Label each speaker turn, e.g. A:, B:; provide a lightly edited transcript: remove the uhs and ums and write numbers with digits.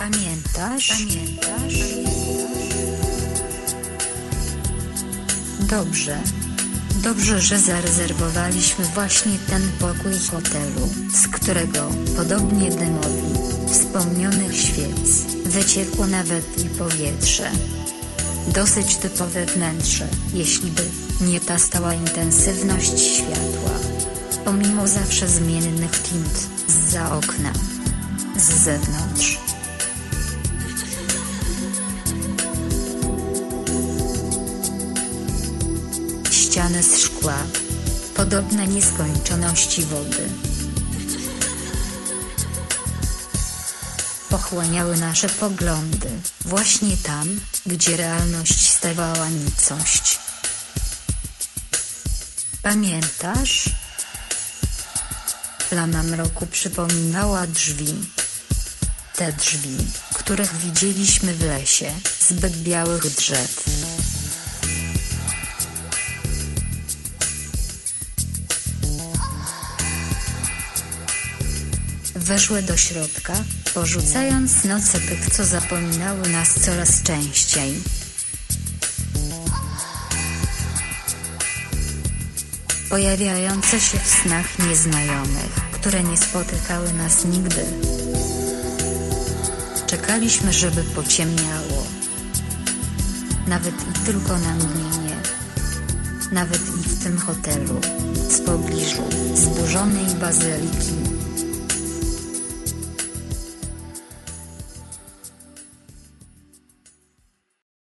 A: Pamiętasz? Dobrze, że zarezerwowaliśmy właśnie ten pokój hotelu, z którego, podobnie dymowi wspomnianych świec, wyciekło nawet i powietrze. Dosyć typowe wnętrze, jeśli by nie ta stała intensywność światła. Pomimo zawsze zmiennych tint, zza okna, z zewnątrz. Ściany z szkła, podobne nieskończoności wody, pochłaniały nasze poglądy, właśnie tam, gdzie realność stawała nicość. Pamiętasz? Plama mroku przypominała drzwi. Te drzwi, których widzieliśmy w lesie, zbyt białych drzew. Weszły do środka, porzucając noce tych, co zapominały nas coraz częściej. Pojawiające się w snach nieznajomych, które nie spotykały nas nigdy. Czekaliśmy, żeby pociemniało. Nawet i tylko na mgnienie. Nawet i w tym hotelu, w pobliżu zburzonej bazyliki.